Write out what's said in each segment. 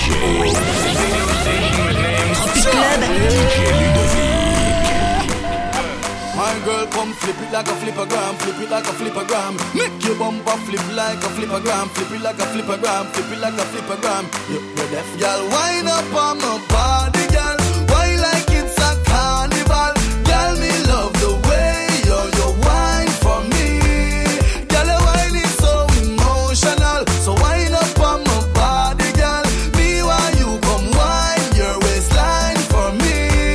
Tropic Club. DJ Ludovic. My girl, come flip it like a flippergram, flip it like a flippergram. Make your bumper flip like a flippergram, flip it like a flippergram, flip it like a flippergram. You're deaf, girl. Wind up on my body, girl. Why like it's a carnival, girl? Me love the way you wine for me, girl. Your wine is so emotional, so wind up on my body, girl. Me while you come wine your waistline for me,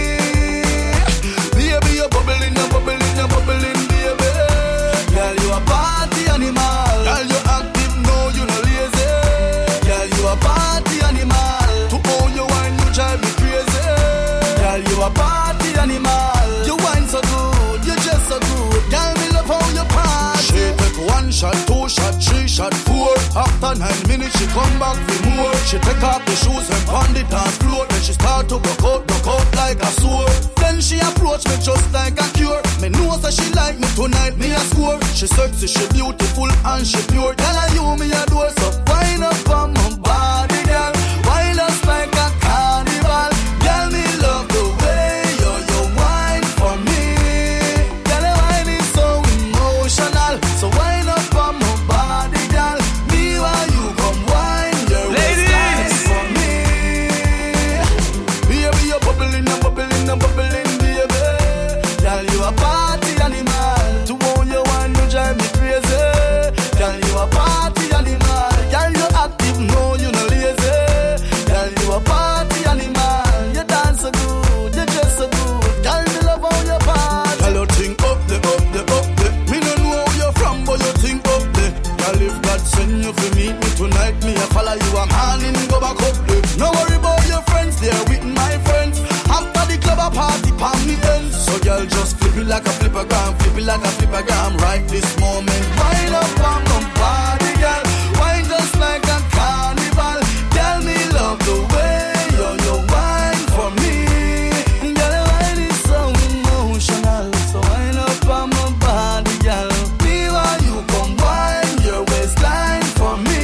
baby. You're bubbling, you're bubbling, you're bubbling, baby. Girl, you a party animal. Girl, you active, no, you no lazy. Girl, you a party animal. To own your wine, you drive me crazy. Girl, you a party animal. You wine so good, you just so good. Girl, me love how you party. She take 1 shot, 2 shot, 3 shot, 4. After 9 minutes, she come back for more. She take off the shoes and pound it on floor. Then she start to broke out like a sword. Then she approach me just like a cure. Me know that she like me tonight, me a score. She sexy, she beautiful and she pure. Girl, I you me a door, so wind up on my body, girl. Wind us like a carnival. Girl, me love the way you wine for me. Girl, your wine is so emotional, so wind up on my body, girl. Me while you come wine your waistline for me. Baby, you're bubbling, you're bubbling, you're bubbling, baby. Girl, you a party animal. To own your wine, you drive me crazy. Girl, you a party animal. Girl, you active, no, you no lazy. Girl, you a party animal. You dance so good, you dress so good. Girl, me love how you party. Girl, you think up the. Me no know where you're from, but you think up the. Girl, if God send you for meet me tonight, me a follow you, I'm handing go back up the. No worry about your friends, they're with my friends. After the club, a party, palm me ends. So girl, just flip it like a flippergram, flip it like a flippergram. Right this moment, wind up on my body, girl. Wine just like a carnival. Tell me love the way you wine for me. Girl, your wine is so emotional, so wind up on my body, girl. Me while you come wine your waistline for me.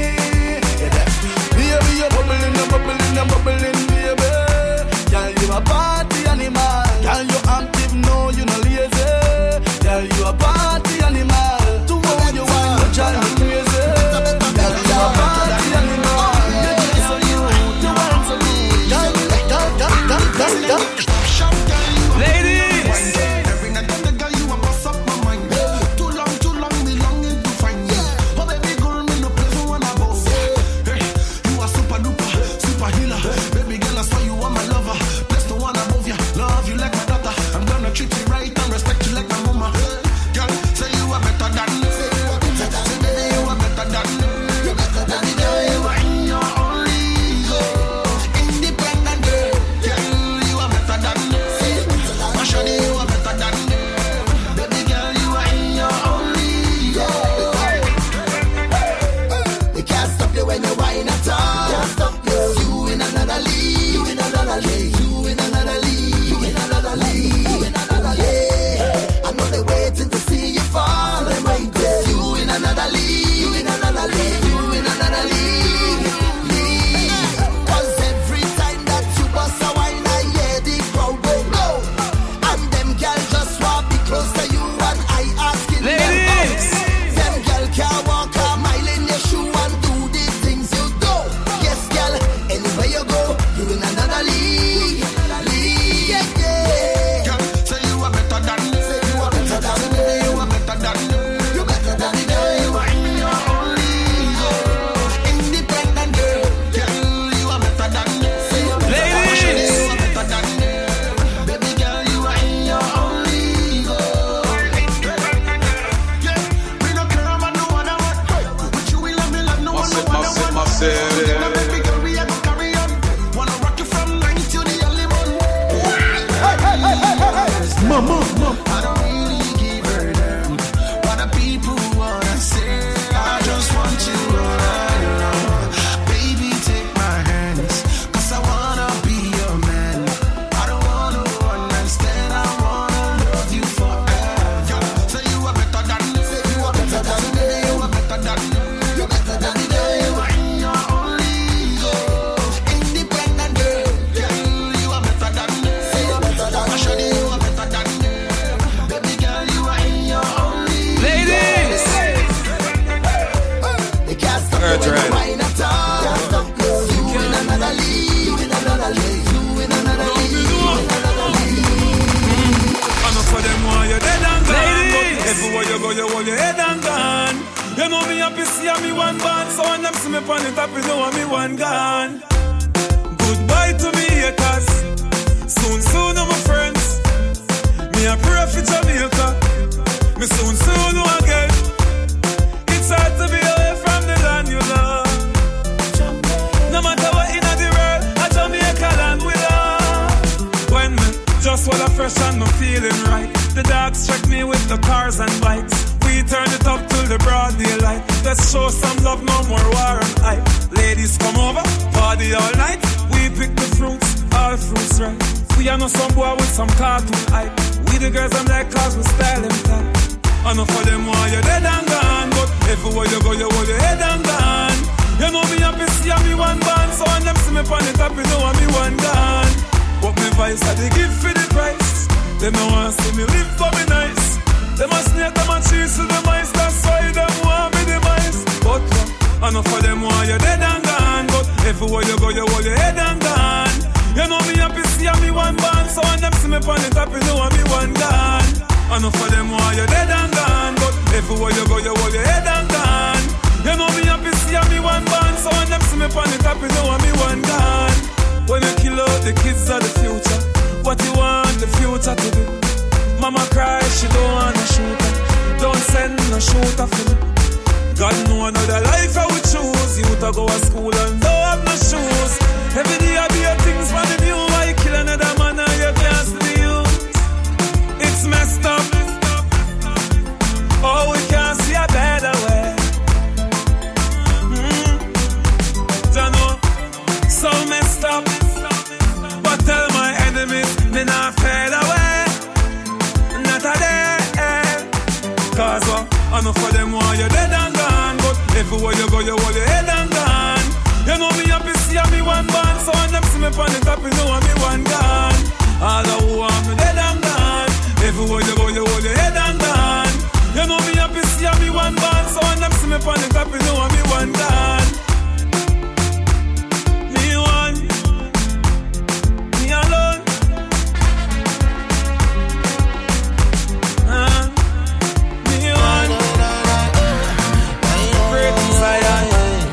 Baby, you're bubbling, you're bubbling, you're bubbling, baby. Girl, you a party animal. Girl, you active, no, you no lazy. Girl, you a party animal. To own your wine, you drive me crazy. Girl, you a party animal. You just so you, you wine so good. Girl. Ladies, Every night on the girl, you a bust up my mind. Too long, me longing to find you. Oh baby girl, me no place for one above. Hey, you a super duper, super healer. Baby girl, I swear you are my lover. Bless the one above you, love you like my daughter. I'm gonna treat you right and respect you like my mama. Girl, say you are better than me. Say baby, you are better than me. Baby girl, you are in your own league. Independent girl, you are better than me. My shawty, you are better than me. Baby girl, you are in your own league. You can't stop you when you whine at all. Can't stop you. You in another league. You in another league. You in another league. You in another league. You in another league. I know they're waiting to see you fall. They're waiting. You in another league. You in another league. You in another league. Cause every time that you bust a wine, I hear the crowd go go. And them girl just want be close to you, and I asking them ladies. them girl can't walk a mile in your shoe and do the things you do. Yes, girl, anywhere you go, you in another league. Yeah. Girl, say you are better than me. Say you are better than me. Baby, you are better than me. You better than me, Girl, you are in your own league. Independent girl, you are better than me. Ladies, You are better than me. Baby girl, you are in your own league. Yeah, we don't care about no other one. But you will love me like no one, no other one. Baby girl, we are gonna carry on. Wanna rock you from 9 to the early morning. Mama. I don't really give a damn what the people wanna say. I just want you all alone. Baby, take my hands, 'cause I wanna be your man. I don't wanna understand, I wanna love you forever. Say you are better than me. Say you are better than me. You are better than me. You better than me. You are in your own league. one band, so when them see me on the top, you know me one gone. Goodbye to me haters. Soon, my friends. Me a pray for Jamaica. Me soon again. It's hard to be away from the land you love. No matter what in the world, a Jamaica land we love. When me just while I fresh and no feeling right, the dogs check me with the cars and bikes. We turn it up till the broad daylight. Let's show some love, no more war and hype. Ladies come over, party all night. We pick the fruits, all fruits right. We are no some boy with some cartoon hype. We the girls I'm like cause we style them tight. Enough for them while you're dead and gone, but everywhere you go you hold your head and gone. You know me happy see me one band, so when them see me on the top you know me one gone. What me vice I they give for the price. Them no want see me live for me nice. Them a snake, them a cheese to the mice. That's why them want me the mice. But enough for them while you're dead and gone, but everywhere you go you hold your head and gone. You know me happy see me one band, so when them see me on the top you know me one gone. Enough for them while you're dead and gone, but everywhere you go you hold your head and gone. You know me happy see me one band, so when them see me on the top you know me one gone. When you kill out the kids of the future, what you want the future to be? Mama cry, she don't want to shoot her. Don't send no shooter for me. God know another life I would choose. You to go to school and don't have no shoes. Every day I be a things for the new. Why you kill another man and you can't see you? It's messed up. Oh, we can't see a better way. Don't know. So messed up. But tell my enemies, me not fade away. Not a day. Cause enough for them while you're dead and gone. But everywhere you go, you hold your head and gone. You know me happy see me one band, so when them see me on the top, you know me one gone. All the who want me dead and gone. Everywhere you go, you hold your head and gone. You know me happy see me one band, so when them see me on the top, you know me one gone. Me one, me alone. Me one, great Zion.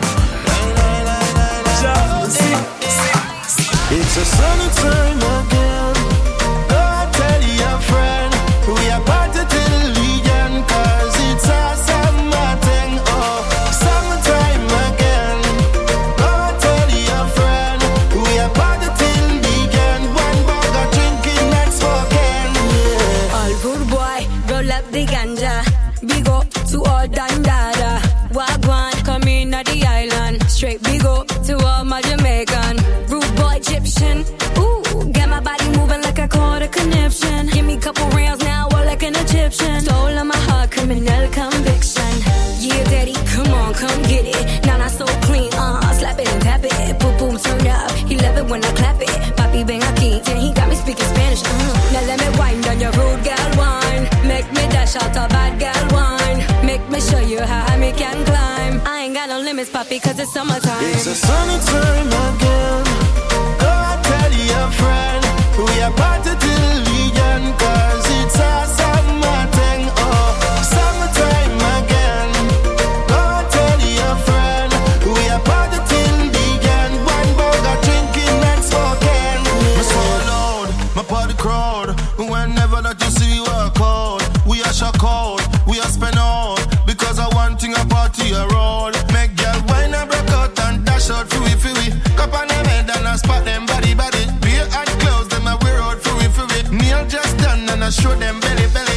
It's a sunny time again. Go and tell your friend we are party till the weekend, cause it's a summer thing. Oh, summertime again. Go and tell your friend we are party till the weekend. One burger drinking, next smoking. Yeah. All good boy, roll up the ganja. Big up to all Dandada. Wagwan, come in at the island. Straight big up to all my Jamaican. Rude boy Egyptian. Ooh, got my body moving like I caught a conniption. Give me a couple rounds now, all like an Egyptian. Soul on my heart, criminal conviction. Yeah, daddy, come on, come get it. Now not so clean, slap it and tap it. Boom, boom, turn up. He love it when I clap it. Papi bang aquí, yeah, he got me speaking Spanish. Now let me wind down your rude gal wine. Make me dash out a bad gal wine. Make me show you how high me can climb. I ain't got no limits, papi, cause it's summertime. It's a sunny time again. Go and tell your friend we are party till the weekend, cause it's a summer thing. Oh, summertime again. Go and tell your friend we are party till the weekend. One burger drinking, next smoking. Me so loud, my party crowd. Whenever that you see we work out, we are shock out, we are spend out. Because I want thing a party around. Make girl wine and break out and dash out for we. Cup on them head and I spot them body. Beer and clothes them a wear out for we. Nail just done and I show them belly.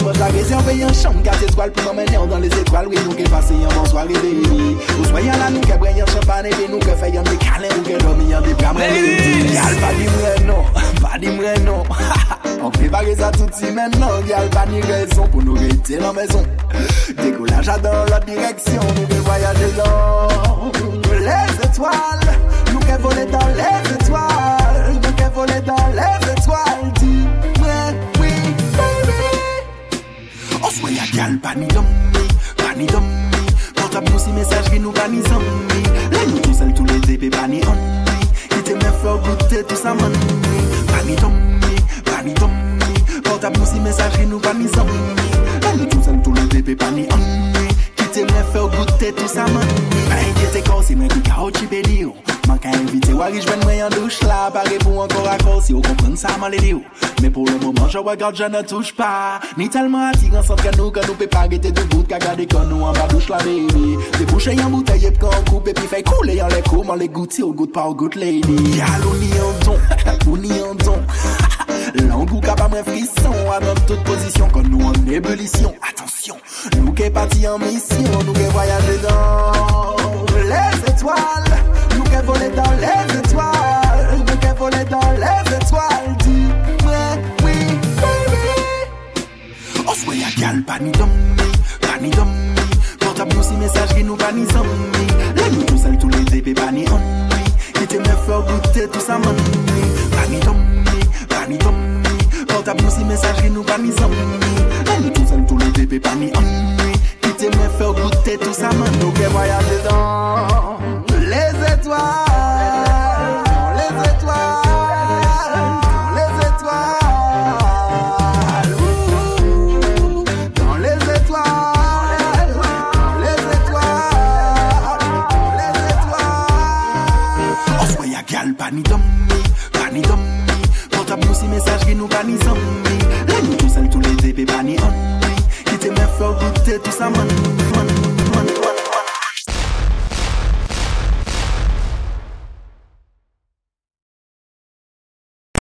Dimanche la réserve et un chambre 4 étoiles pour m'emmener dans les étoiles. Oui, nous qui passons un bon soirée baby. Vous soyez là, nous qui brillons champagne et nous qui faisons des câlins, nous qui dormons des bras. Gal, pas dis moi non, pas dis moi non. On prépare ça tout de suite maintenant. Gal, pas ni raison pour nous rester dans la maison. Décollage dans l'autre direction, nous qui voyager dans les étoiles. Nous qui voler dans les étoiles. Nous qui voler dans les étoiles. Dis-moi oui, baby. On se voit y'a gal, pas ni d'homme, pas ni d'homme. Portable nous si message qui nous pas ni zombie. Là nous tout seuls tous les épées, pas ni ennui. Qui te me fait goûter tout ça man. Pas ni d'homme, pas ni d'homme. Portable nous si message qui nous pas ni zombie. Là nous tout seuls tous les épées, pas ni ennui. Qui te me fait goûter tout ça man. T'es cassé, mais tu carottes, tu peux dire. Manque à inviter, ouais, je vais me en douche là. Pareil pour encore à cause, si vous comprenez ça, mal les mais pour le moment, je regarde, je ne touche pas. Ni tellement attirant, sans que nous peut pas arrêter de bout, qu'à garder quand nous en bas douche la baby. Des bouchées en bouteille, et puis quand on coupe, et puis fait couler en les comment les goûter au goût pas au goût lady. Yalou ni en don, ou ni en don. L'angou capable de frisson, à notre toute position, quand nous en ébullition. Attention, nous qui partis en mission, nous qui voyager dans les étoiles, nous qui voler dans les étoiles, nous qui voler dans les étoiles. Dis-moi oui, baby. On se voit y'a gal, pas ni d'homme, pas ni d'homme. Portable nous si message qui nous pas ni zombie. Là nous tout seuls tous les épées, pas ni ennui. Qui te me fait goûter tout ça man. Pas ni d'homme, pas ni d'homme. Portable nous si message qui nous pas ni zombie. Là nous tout seuls tous les épées, pas ni ennui. Qui te me fait goûter tout ça man. Nous qui voyager dans les étoiles. Pas ni d'homme, pas ni d'homme. Portable nous si message qui nous pas ni zombie. Là nous tous seuls tous les épées, pas ni ennui. Qui te me fait goûter tout ça man.